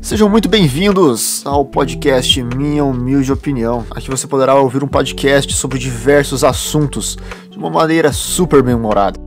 Sejam muito bem-vindos ao podcast Minha Humilde Opinião. Aqui você poderá ouvir um podcast sobre diversos assuntos de uma maneira super bem-humorada.